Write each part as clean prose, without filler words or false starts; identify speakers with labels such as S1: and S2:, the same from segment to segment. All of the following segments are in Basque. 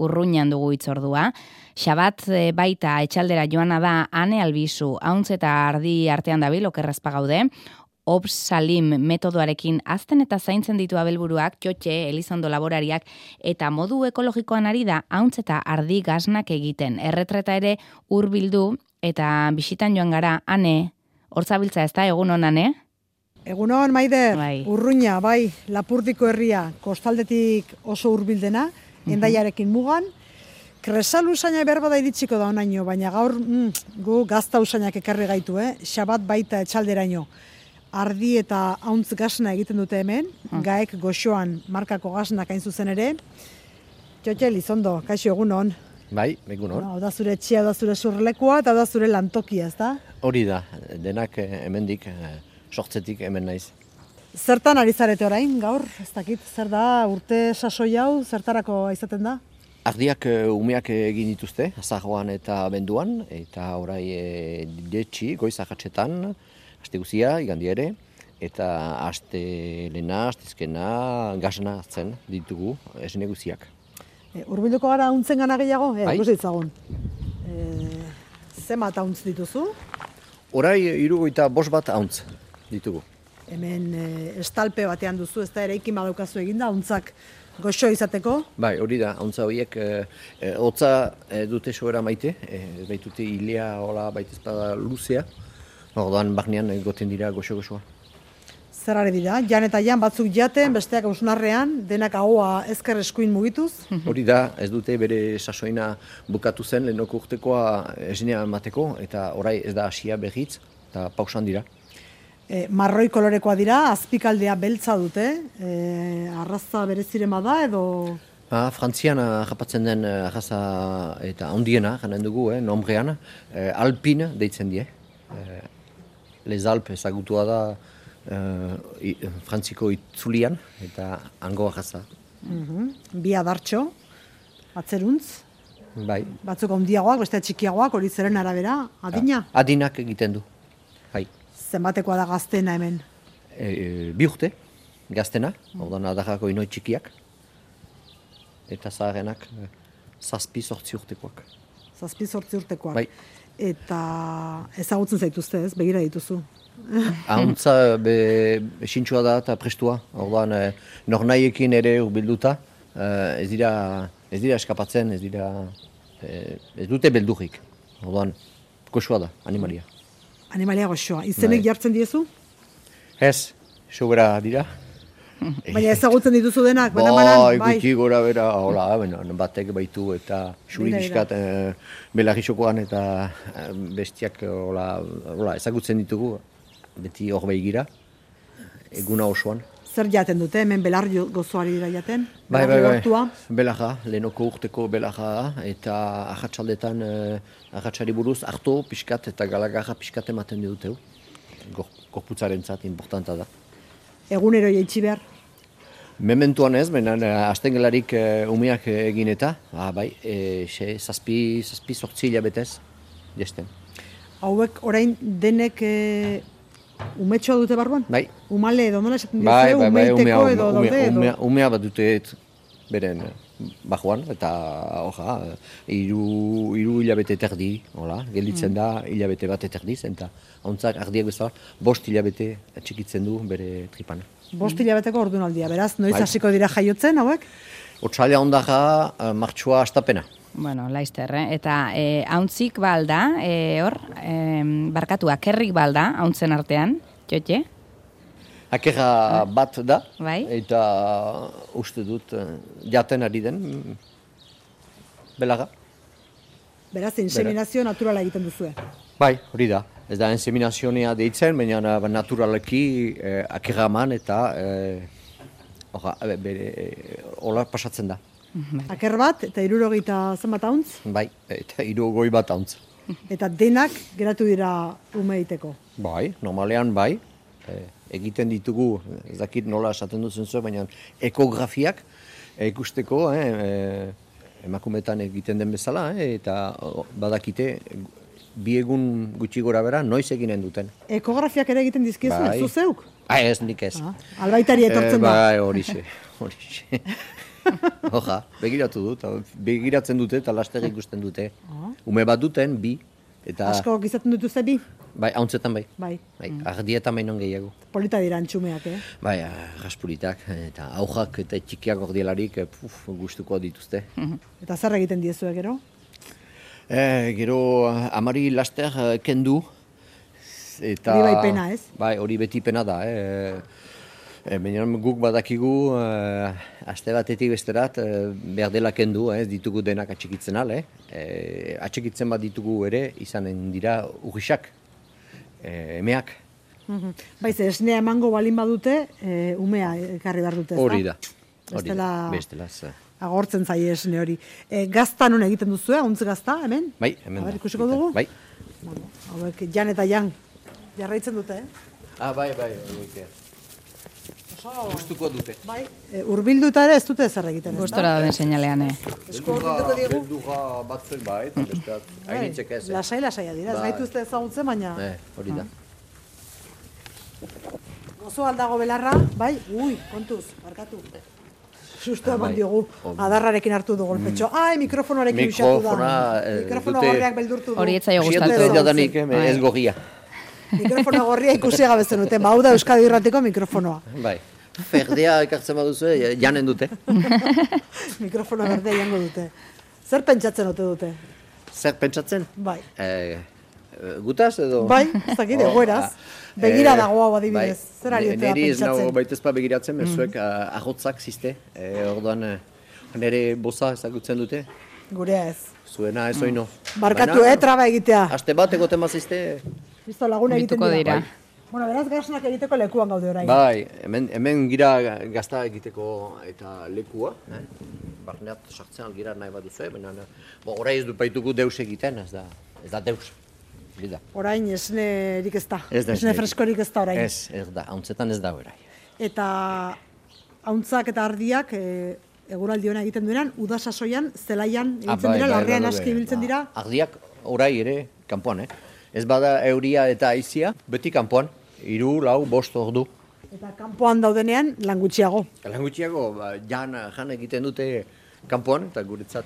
S1: Urruñan dugu itzordua. Xabat baita etxaldera joana da Ane Albizu, hauntz eta ardi artean dabil, okerrazpa gaude. Obs Salim metodoarekin azten eta zaintzen ditu abelburuak, Txotxe, Elizondo laborariak, eta modu ekologikoan ari da hauntz eta ardi gaznak egiten. Erretreta ere hurbildu eta bisitan joan gara, Ane, hortzabiltza ez da, egunon, Ane?
S2: Egunon, Maider,
S1: Bai.
S2: Urruña, bai, Lapurdiko herria, kostaldetik oso hurbildena, Hendaiarekin mugan. Kresal usaina berba da iritsiko da onaino, baina gaur gu gazta usainak ekarri gaitu, Xabat baita etxalderaino. Ardi eta hauntz gasna egiten dute hemen, gaek goxoan markako gasnak hain zuzen ere. Txotxe, Elizondo, kaixo egunon.
S3: Bai, egunon.
S2: Hau da zure etxea, hau da zure surlekua, eta hau da zure lantokia, ez da?
S3: Hori da, denak hemendik, sortzetik hemen naiz.
S2: Zertan ari zarete orain, gaur? Ez dakit, zer da, urte sasoi hau, zertarako izaten da?
S3: Ardiak umeak egin dituzte, azaroan eta benduan, eta orai detxi, goiz ahatsetan, aste guzia, igandi ere, eta aste lehena, astezkena, gasna hartzen ditugu esne guziak.
S2: Hurbilduko gara hauntzen gana gehiago?
S3: Bai.
S2: Ikusi ditzagun. Zenbat hauntz dituzu?
S3: Orai 75 bat hauntz ditugu.
S2: Hemen estalpe batean duzu, ez da eraikin badaukazu eginda, hauntzak goxo izateko.
S3: Bai, hori da, hauntza horiek hotza dute sobera maite, baitute hilea, hola, baitezpada luzea, orduan barnean goten dira goxo-goxoa.
S2: Zer ari dira, jan eta jan batzuk jaten, besteak ausnarrean, denak ahoa ezker eskuin mugituz.
S3: Hori da, ez dute bere sasoina bukatu zen, lehenoko urtekoa esnea emateko, eta orai ez da hasia berriz, eta pausan dira.
S2: Marroi kolorekoa dira, azpikaldea beltza dute, arraza bereziren bada edo...
S3: Frantzian japatzen den arraza eta handiena, janen dugu, nombrean, Alpine deitzen die. Les Alpes ezagutua da Frantziko itzulian eta hango arraza.
S2: Bi adartxo, atzeruntz,
S3: Bai.
S2: batzuk handiagoak, beste txikiagoak, hori zeren arabera, adina?
S3: Adinak egiten du. Bai.
S2: Zenbatekoa da gaztena hemen?
S3: 2 urte, gaztena, orduan adarrako inoi txikiak, eta zaharrenak 7-8 urtekoak.
S2: 7-8 urtekoak.
S3: Bai.
S2: Eta ezagutzen zaituzte ez, begira dituzu.
S3: Ahuntza esintxua da eta prestua, orduan nornaiekin ere hurbilduta, ez dira eskapatzen, ez dute beldurrik, orduan goxoa da, animalia.
S2: Animalia goxoa, izenek jartzen diezu?
S3: Ez, sobera dira.
S2: Baina ezagutzen dituzu denak,
S3: Bai, gutxi gora bera, hola, batek baitu eta xuri
S2: Dira,
S3: bizkat belarrisokoan eta bestiak hola, ezagutzen ditugu, beti hor begira, eguna osoan.
S2: Zer jaten dute, hemen belar gozoari dira jaten?
S3: Bai,
S2: Belarra.
S3: belarra, lehenoko urteko belarra eta ahatsaldetan ahatsari buruz harto pixkat eta galagarra pixkat ematen dute. Gorputzarentzat importanta da.
S2: Egunero jaitsi behar?
S3: Mementuan ez, baina hasten gelarik umeak egin eta, bai, 7-8 hilabetez, jesten.
S2: Hauek orain denek umetxoa dute barruan?
S3: Bai.
S2: Umale edo nola esaten
S3: Bai,
S2: diozu, umeiteko edo daude edo?
S3: Umea bat dute beren bajuan, eta hiru hilabete terdi, gelditzen da hilabete bat eterdiz, eta hauntzak ardiak bezala 5 hilabete txikitzen du bere tripan.
S2: 5 hilabeteko ordunaldia, beraz, noiz hasiko dira jaiotzen hauek?
S3: Otsaila ondara martxoa astapena.
S1: Bueno, laizter, eta hauntzik balda, barkatu, akerrik balda, hauntzen artean, Txotxe?
S3: Akerra bat da,
S1: Bai.
S3: eta uste dut jaten ari den belarra.
S2: Beraz, inseminazio naturala egiten duzue.
S3: Bai, hori da. Ez da inseminazionea deitzen, baina naturaleki akerra eman eta hola pasatzen da.
S2: Aker bat eta 60 zenbat hauntz,
S3: Bai, eta 60 bat hauntz.
S2: eta denak geratu dira ume egiteko.
S3: Bai, normalean bai. Egiten ditugu, ez dakit nola esaten duzen zuen, baina ekografiak ikusteko, emakumetan egiten den bezala, eta badakite bi egun gutxi gora bera noiz eginen duten.
S2: Ekografiak ere egiten dizkiezu,
S3: Bai.
S2: zu zeuk?
S3: Ez, nik ez.
S2: Albaitari etortzen da.
S3: Bai, horixe. Hoja, begiratu dut, begiratzen dute eta laster ikusten dute. Ume bat duten, bi. Eta,
S2: Asko izaten dituzte bi?
S3: bai, hauntzetan bai.
S2: Bai.
S3: Ardietan bainon gehiago.
S2: Polita dira antxumeak,
S3: Bai, raspulitak, eta aujak eta txikiak ordielarik gustuko dituzte.
S2: Eta zer egiten diezue gero?
S3: Gero amari laster kendu. Eta,
S2: Hori bai pena, ez?
S3: Bai, hori beti pena da. Baina guk badakigu, aste batetik besterat, behar dela kendu, ez ditugu denak atxikitzen ale. Atxikitzen bat ditugu ere, izanen dira urrisak, emeak.
S2: Baiz, esnea emango balin badute, umea ekarri behar dute, ez da?
S3: Hori da.
S2: Bestela agortzen zaie esne hori. Gazta non egiten duzu, hauntz gazta, hemen?
S3: Bai, hemen da.
S2: Ikusiko dugu?
S3: Bai.
S2: Hauek, jan eta jan, jarraitzen dute,
S3: Bai, horiek. Gustuko dute.
S2: Bai, urbilduta ere ez dute zer egiten, ez da?
S1: Gustora dauden seinalean,
S2: Esku urbilduko diegu?
S3: Beldurra batzuek bai, eta besteak hainitzek ez.
S2: Lasai-lasaia dira, ez gaituzte ezagutzen, baina...
S3: Hori da.
S2: Gozo aldago belarra, bai, kontuz, markatu. Susto eman diogu, adarrarekin hartu du golpetxo. Mikrofonoarekin usatu da. Mikrofono gorriak beldurtu du.
S1: Hori etzaio
S3: Sietute
S1: gustatu.
S3: jadanik, ez gorria.
S2: Mikrofono gorria ikusi gabe zenuten, hau da Euskadi Irratiko mikrofonoa.
S3: Bai. Ferdea ekartzen baduzu, janen dute.
S2: Mikrofono berdea jango dute. Zer pentsatzen ote dute?
S3: Zer pentsatzen?
S2: Bai.
S3: Gutaz edo?
S2: Bai, ez dakit, egoeraz. Begira dago hau adibidez. Zer ari otea
S3: Neri ez nago
S2: pentsatzen?
S3: baitezpa begiratzen, bezuek ahotzak ziste. Orduan, nire boza ezagutzen dute.
S2: Gurea ez.
S3: Zuena ez oino.
S2: Barkatu, traba egitea.
S3: Aste bat egoten mazizte.
S2: Listo, laguna egiten
S1: Bituko
S2: dira.
S1: dira.
S2: Bueno, beraz gasnak egiteko lekuan gaude orain.
S3: Bai, hemen gira gazta egiteko eta lekua. Barneat sartzen algira nahi bat duzu, baina orai ez du baitugu deus egiten, ez da deus. Bida.
S2: Orain esnerik ez da.
S3: Ez da
S2: Esne
S3: esnerik.
S2: freskorik ez da orain.
S3: Ez da, hauntzetan ez da orai.
S2: Eta hauntzak eta ardiak eguraldi ona egiten duenean, uda sasoian, zelaian egiten dira, larrean aski ibiltzen dira.
S3: Ardiak orai ere kanpoan, Ez bada euria eta haizia, beti kanpoan, 3, 4, 5 ordu.
S2: Eta kanpoan daudenean, lan gutxiago.
S3: Lan gutxiago, jan egiten dute kanpoan, eta guretzat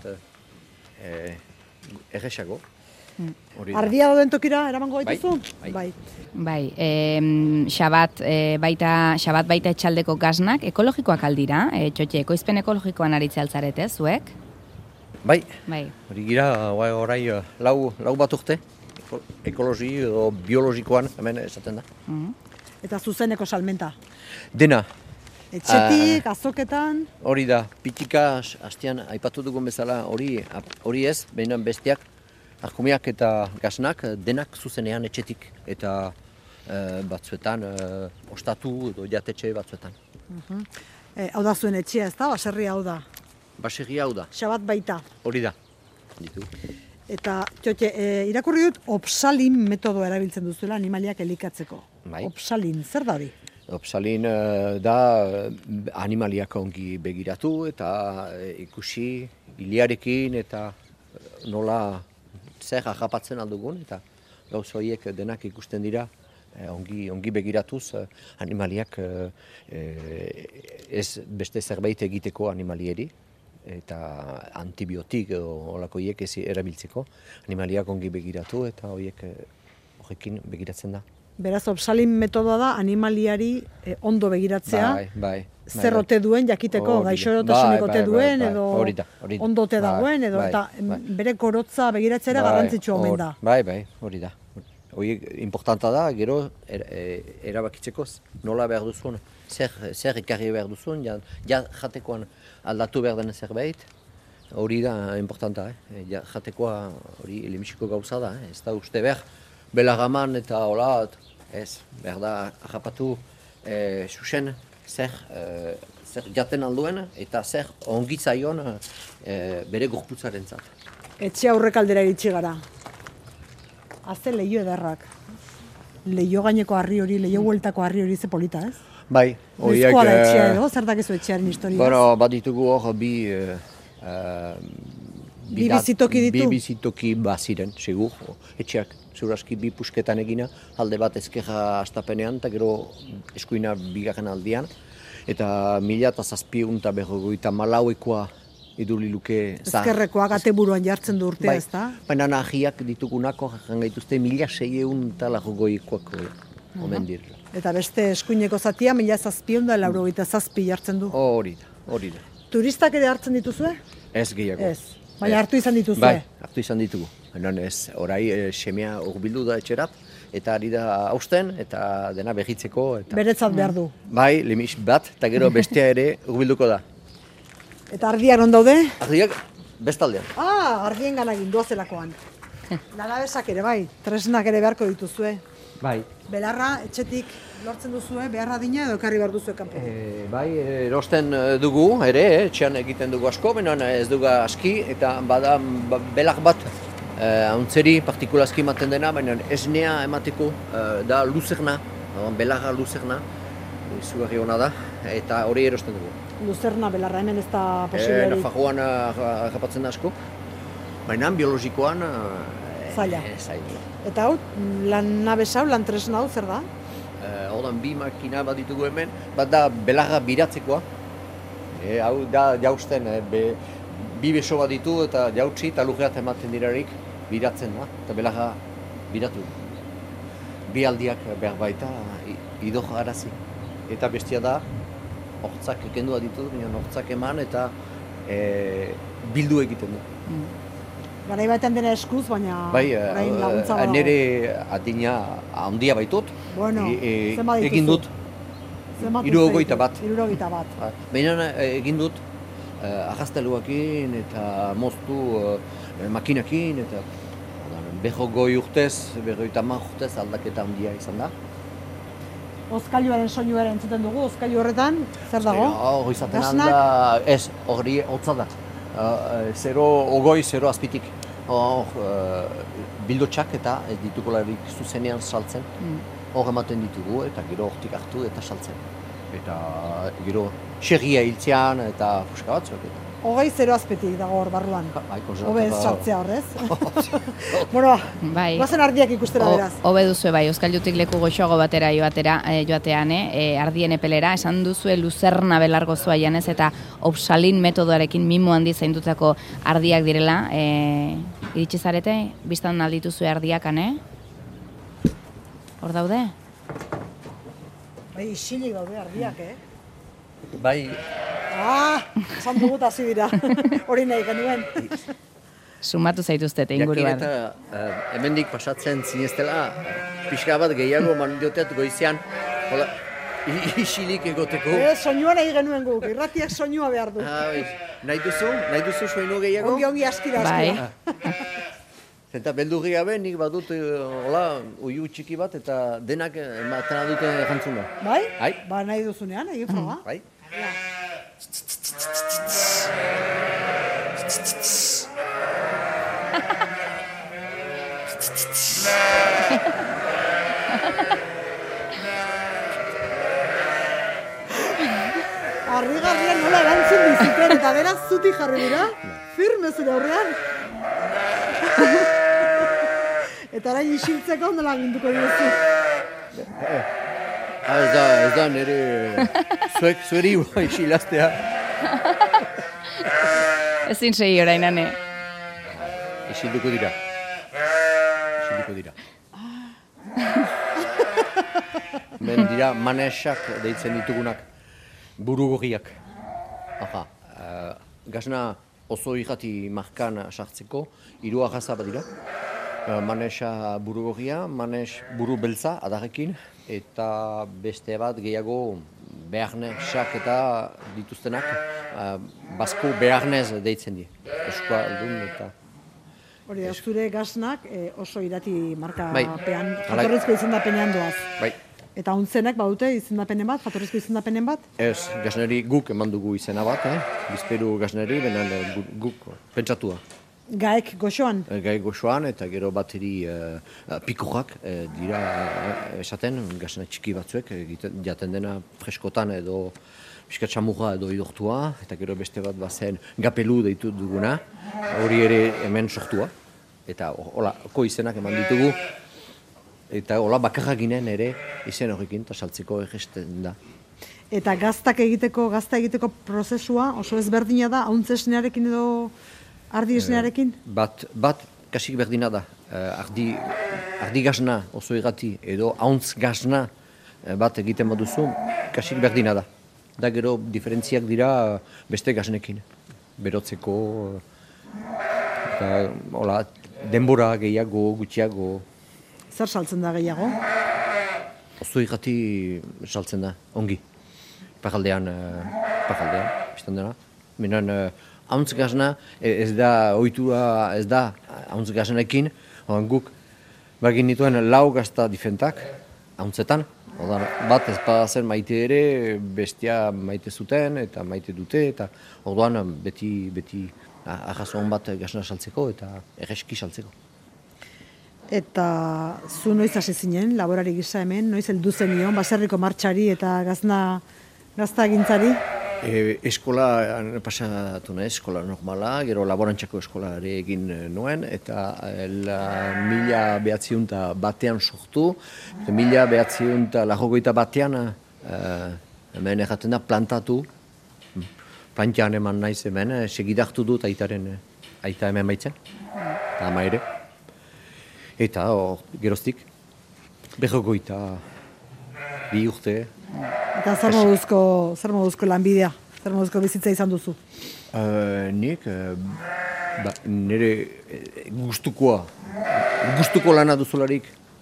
S3: erresago.
S2: Ardia dauden tokira eramango gaituzu?
S3: Bai.
S1: Bai, xabat baita etxaldeko gaznak, ekologikoak aldira, txotxe, ekoizpen ekologikoan aritze altzarete, zuek?
S3: Bai,
S1: Bai.
S3: hori gira, orai lau bat urte, ekologi edo biologikoan, hemen esaten da.
S2: Eta zuzeneko salmenta.
S3: Dena,
S2: Etxetik, azoketan,
S3: hori da, pitika, hastian aipatu dugun bezala, hori ez, behinan bestiak, arkumiak eta gaznak, denak zuzenean etxetik, eta batzuetan, ostatu edo jatetxe batzuetan.
S2: hau da zuen etxea, ez da? Baserria hau da.
S3: Baserria hau da,
S2: Xabat baita.
S3: hori da. Ditu.
S2: Eta, txotxe, irakurri dut, opsalin metodoa erabiltzen duzuela animaliak elikatzeko.
S3: Bai.
S2: Opsalin, zer da hori?
S3: Opsalin da animaliak ongi begiratu eta ikusi iliarekin eta nola zer harrapatzen aldugun eta gauz horiek denak ikusten dira ongi begiratuz animaliak ez beste zerbait egiteko animalieri eta antibiotik edo holakoiek ez erabiltzeko animaliak ongi begiratu eta horrekin begiratzen da.
S2: Beraz, opsalin metodoa da animaliari ondo begiratzea,
S3: Bai.
S2: zer ote duen jakiteko, gaixotasunik ote duen, edo
S3: hori da.
S2: ondo ote dagoen, edo eta bere korotza begiratzea ere garrantzitsua omen da.
S3: Bai, hori da. Hori importanta da, gero erabakitzeko nola behar duzun, zer ekarri behar duzun, jatekoan aldatu behar den zerbait, hori da importanta, jatekoa hori elemisiko gauza da, ez da uste behar, belagaman eta hola, ez, behar da harrapatu susen zer jaten alduen eta zer ongitzaion bere gorputzaren zat.
S2: Etxe aurrek aldera iritsi gara. Azte leio edarrak. Leio gaineko harri hori, leio bueltako harri hori ze polita, ez?
S3: Bai, horiek...
S2: Noizkoa da etxea edo, zer dakizu etxearen historiaz?
S3: Bueno, bat ditugu hor bi
S2: bizitoki ditu?
S3: Bi bizitoki baziren, segur. Etxeak, zuraski bi pusketan egina, alde bat ezkerra astapenean, eta gero eskuina bigarren aldian. eta 1754 iduli luke
S2: Ezkerrekoak ateburuan jartzen du urtea,
S3: bai,
S2: ez da?
S3: baina nahiak ditugunako jarran gaituzte 1600 omen direla.
S2: Eta beste eskuineko zatia 1787 jartzen du.
S3: Hori da.
S2: Turistak ere hartzen dituzue?
S3: Ez gehiago.
S2: Ez. Baina hartu izan dituzue?
S3: Bai, hartu izan ditugu. Baina ez, orai semea hurbildu da etxerat, eta ari da hausten, eta dena behitzeko. Eta...
S2: Beretzat behar du.
S3: Bai, limix bat, eta gero bestea ere hurbilduko da.
S2: Eta ardiak non daude?
S3: Ardiak bestaldean.
S2: Ardien gana gindoazelakoan. Lanabesak ere bai, tresnak ere beharko dituzue.
S3: Bai.
S2: Belarra, etxetik lortzen duzue, beharra dina edo ekarri behar duzue kanpo?
S3: Bai, erosten dugu, ere, etxean egiten dugu asko, baina ez dugu aski, eta bada belar bat hauntzeri partikulazki ematen dena, baina esnea emateko da luzerna, belarra luzerna, izugarri hona da, eta hori erosten dugu.
S2: Luzerna, belarra, hemen ez da posiblerik?
S3: Nafarroan agapatzen da asko, baina biologikoan
S2: zaila.
S3: Zaila.
S2: Eta hau, lan nabez hau, lan tresna hau, zer da?
S3: Ordan bi makina bat ditugu hemen, bat da belarra biratzekoa. Hau da jausten, bi beso bat ditu eta jautsi eta lurreat ematen dirarik biratzen da, eta belarra biratu. Bi aldiak behar baita idor arazi. Eta bestia da, hortzak ekendua ditu, hortzak eman eta bildu egiten du.
S2: Garai batean dena eskuz, baina orain laguntza badago.
S3: Nire adina handia baitut, egin dut
S2: 61 bat.
S3: Baina egin dut arrasteluakin eta moztu makinakin, eta 20 urtez, 50 urtez aldaketa handia izan da.
S2: Ozkailuaren soinuaren entzuten dugu, ozkailu horretan, zer dago?
S3: Hori izaten alda, ez, hori hotza da. 0 azpitik. Bildotxak eta ez ditugularik zuzenean saltzen. Hor ematen ditugu eta gero hortik hartu eta saltzen. Eta gero xerria hiltzean eta fuska batzuak.
S2: 0 azpetik dago hor barruan. Hobe ez sartzea horrez. Guazen ardiak ikustera beraz.
S1: Hobe duzue bai, Ozkailutik leku goxoago batera joatean, ardien epelera, esan duzue luzerna belargozoa janez eta Opsalin metodoarekin mimo handi zaindutako ardiak direla. Iritsi zarete, biztan aldituzue ardiakan, Hor daude?
S2: Bai, isilik daude ardiak,
S3: Bai.
S2: Esan dugut hasi dira, hori nahi genuen.
S1: Sumatu zaituztete inguruan.
S3: Jakin eta hemendik pasatzen zineztela, pixka bat gehiago mandioteat goizean, isilik egoteko.
S2: Soinua nahi genuen guk, irratiak soinua behar du.
S3: Nahi duzu soinu gehiago?
S2: Ongi askira.
S3: Eta beldurri gabe nik badut uiu txiki bat eta denak ematen dute jantzuna.
S2: Bai? Ba nahi duzunean, egin froga.
S3: Bai.
S2: Harrigarrian nola erantzun dizuten eta beraz zutik jarri dira, firme zure aurrean. Eta orain isiltzeko nola ginduko diozu?
S3: Ez da nire zueri isilaztea.
S1: Ezin segi orain, ane.
S3: Isilduko dira. Men dira manesak deitzen ditugunak, burugorriak. Gazna oso irrati markan sartzeko, 3 arraza bat dira. Manesa burugorria, manes buru beltza adarrekin, eta beste bat gehiago beharnesak eta dituztenak, basko beharnez deitzen di. Eskua aldun eta...
S2: Hori da, zure gaznak oso irati markapean, jatorrizko izendapenean doaz.
S3: Bai.
S2: Eta untzenak badute izendapenen bat, jatorrizko izendapenen bat?
S3: Ez, gazneri guk eman dugu izena bat, bizperu gazneri, benen guk pentsatua.
S2: Gaek goxoan?
S3: Gaek goxoan, eta gero bateri pikorrak dira esaten, gazna txiki batzuek, jaten dena freskotan edo piskatxamurra edo idortua, eta gero beste bat bazen gapelu deitu duguna, hori ere hemen sortua, eta holako izenak eman ditugu, eta hola bakarra ginen ere izen horrekin, eta saltzeko egesten da.
S2: Eta gazta egiteko prozesua oso ezberdina da, hauntz esnearekin edo ardi esnearekin?
S3: Bat kasik berdina da. Ardi gazna oso egati edo hauntz gazna bat egiten baduzu, kasik berdina da. Da gero diferentziak dira beste gaznekin. Berotzeko, eta hola, denbora gehiago, gutxiago.
S2: Zer saltzen da gehiago?
S3: Oso egati saltzen da, ongi. Pajaldean, biztan dena. Minan, hauntz gazna, ez da ohitura, ez da hauntz gaznekin, guk bagin nituen lau gazta difentak, hauntzetan. Bat ez zen maite ere, bestia maite zuten eta maite dute, eta orduan beti arrazon bat gazna saltzeko eta erreski saltzeko.
S2: Eta zu noiz hasi zinen, laborari gisa hemen, noiz heldu zenion, baserriko martxari eta gazta egintzari?
S3: Eskola pasatu nahi, eskola normala, gero laborantzako eskolare egin nuen, eta 1901 sortu, 1921 hemen erraten da plantatu, plantian eman naiz hemen, segidartu dut aita hemen baitzen, ama ere. Eta geroztik, 22 urte.
S2: Eta zer moduzko lanbidea? Zer moduzko bizitza izan duzu?
S3: Nik nire gustuko lana duzularik.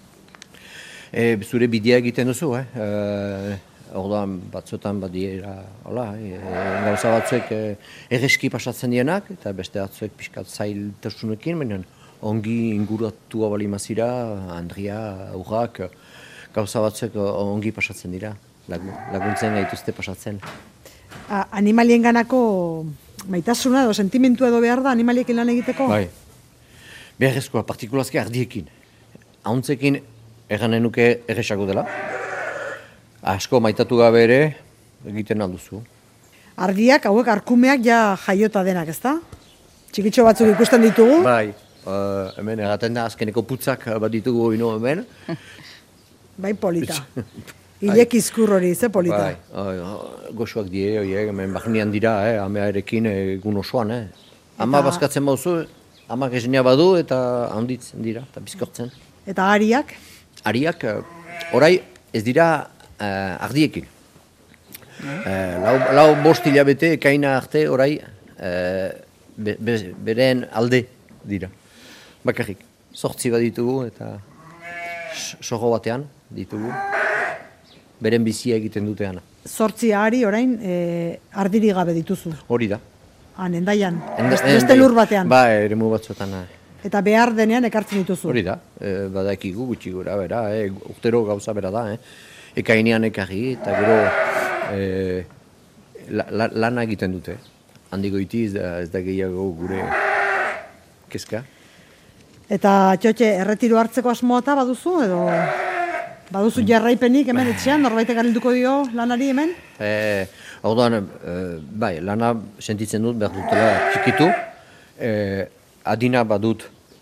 S3: Zure bidea egiten duzu, orduan batzuetan badiera, gauza batzuek erreski pasatzen dienak, eta beste batzuek pixkat zailtasunekin, baina ongi inguratua bali mazira, Andria, urrak, gauza batzuek ongi pasatzen dira, laguntzen gaituzte pasatzen.
S2: Animalien ganako maitasuna edo sentimentua edo behar da animaliekin lan egiteko?
S3: Bai, beharrezkoa, partikulazki ardiekin. Hauntzekin erranen nuke erresago dela. Asko maitatu gabe ere egiten alduzu.
S2: Ardiak, hauek arkumeak ja jaiota denak, ezta? Txikitxo batzuk ikusten ditugu?
S3: Bai, hemen erraten da azkeneko putzak bat ditugu ino hemen.
S2: Bai, polita. Ilek izkur hori, ze polita.
S3: Bai, goxuak die, hemen bahnean dira, amea erekin egun osoan. Ama bazkatzen bauzu, ama gezenia badu eta handitzen dira, eta bizkortzen.
S2: Eta ariak?
S3: Ariak, orai ez dira ardiekin. Lau bost hilabete ekaina arte orai beren alde dira. Bakarrik, 8 bat ditugu eta soho batean ditugu. Beren bizia egiten duteana.
S2: 8 ari orain ardiri gabe dituzu.
S3: Hori da.
S2: Endaian, beste lur batean.
S3: Ba, eremu batzuetan.
S2: Eta behar denean ekartzen dituzu.
S3: Hori da, badakigu gutxi gura, bera, urtero gauza bera da. Ekainean ekarri eta gero lana egiten dute. Handiko iti ez da gehiago gure kezka.
S2: Eta txotxe, erretiro hartzeko asmoa eta baduzu edo... Baduzu jarraipenik hemen etxean, norbaitek arilduko dio lanari hemen?
S3: Orduan, bai, lana sentitzen dut behar dutela txikitu. Adina badut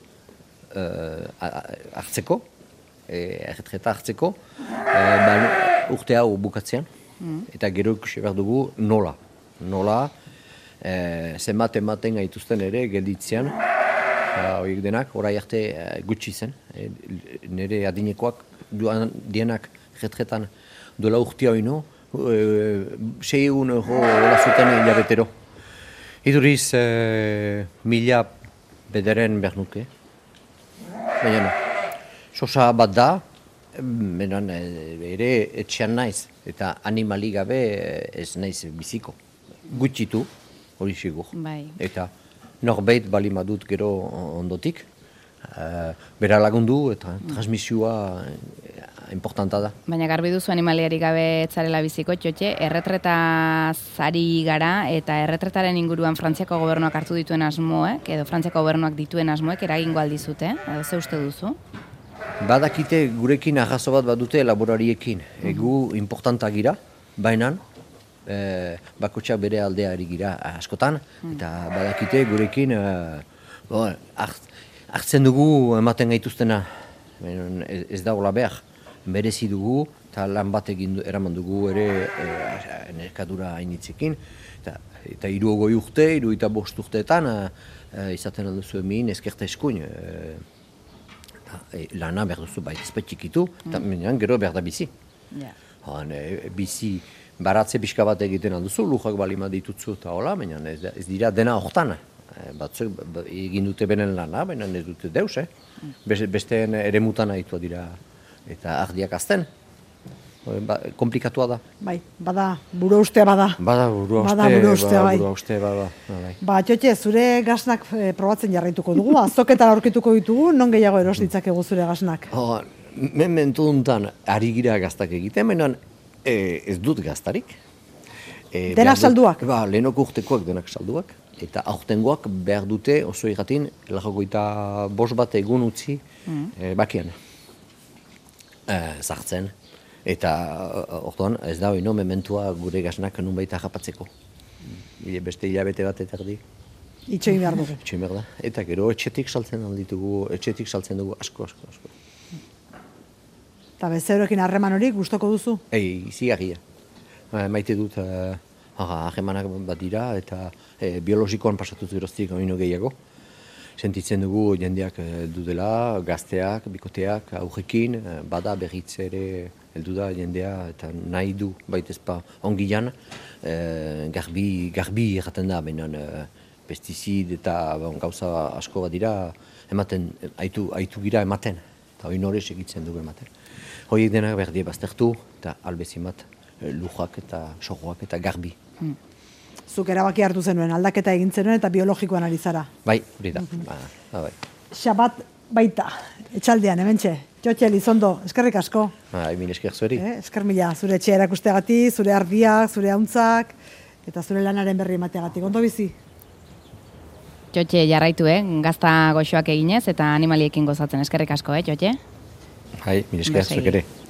S3: hartzeko, erretreta hartzeko, urte hau bukatzean, eta gero ikusi behar dugu nola. Nola, zenbat ematen gaituzten ere gelditzean, horiek denak, orai arte gutxi zen, nire adinekoak joan dienak retretan dola urtia oino, 600 euro hola zuten hilabetero. Iduriz, 1000 bederen behar nuke. Baina, sosa bat da, benan ere etxean naiz, eta animali gabe ez naiz biziko. Gutxitu, hori sigur.
S1: Bai.
S3: Eta norbait bali madut gero ondotik, bera lagundu eta transmisioa importanta da.
S1: Baina garbi duzu animaliari gabe etzarela biziko, txotxe, erretretaz ari gara eta erretretaren inguruan Frantziako gobernuak hartu dituen asmoek, edo Frantziako gobernuak dituen asmoek eragingo aldizute, edo ze uste duzu?
S3: Badakite gurekin arrazo bat badute laborariekin. Egu importanta gira, baina bakotxak bere aldeari gira askotan, eta badakite gurekin hartzen dugu ematen gaituztena. Ez da hola behar, merezi dugu eta lan bat eraman dugu ere nerkadura hainitzekin, eta 60 urte, 65 urteetan izaten alduzu hemen ezkerta eskuin. Lana behar duzu ezpait txikitu, eta gero behar da bizi. Bizi baratze pixka bat egiten alduzu, lujak balima ditutzu eta hola, baina ez dira dena hortan. Batzuk egin dute benen lana, baina ez dute deus, besteen ere mutan ahitua dira eta ardiak azten. Komplikatua da.
S2: Bai, bada, buru ustea bada.
S3: Bada, buru ustea, bai.
S2: Txotxe, zure gasnak probatzen jarraituko dugu, azoketara aurkituko ditugu, non gehiago eros ditzakegu zure gasnak?
S3: Momentu duntan, ari gira gaztak egiten, baina ez dut gaztarik.
S2: Denak salduak?
S3: Lehenoko urtekoak denak salduak, eta aurtengoak behar dute oso irratin, 5 bat egun utzi bakian. Zartzen. Eta orduan ez da oino mementua gure gasnak nunbait harrapatzeko. Beste hilabete bat eta erdi.
S2: Itxoin behar dugu.
S3: Itxoin behar da. Eta gero etxetik saltzen dugu asko.
S2: Eta bezeroekin harreman hori gustoko duzu?
S3: Izigarria. Maite dut harremanak bat dira eta biologikoan pasatuz geroztik oino gehiago. Sentitzen dugu jendeak dudela, gazteak, bikoteak, aurrekin, bada berriz ere heldu da jendea eta nahi du baitezpa ongilan, garbi erraten da, baina pestizid eta gauza asko bat dira, ematen, haitu gira ematen, eta hori norez egitzen dugu ematen. Horiek denak berdie baztertu, eta albezimat lujak eta sojoak eta garbi.
S2: Zuk erabaki hartu zenuen, aldaketa egin zenuen eta biologikoan ari zara.
S3: Bai, hori da. Bai.
S2: Xabat baita, etxaldean, hementxe. Txotxe, Elizondo, eskerrik asko.
S3: Min esker zueri.
S2: Esker mila, zure etxea erakusteagatik, zure ardiak, zure hauntzak, eta zure lanaren berri emateagatik. Ondo bizi?
S1: Txotxe, jarraitu, gazta goxoak eginez, eta animaliekin gozatzen. Eskerrik asko, Txotxe?
S3: Min esker zuek ere.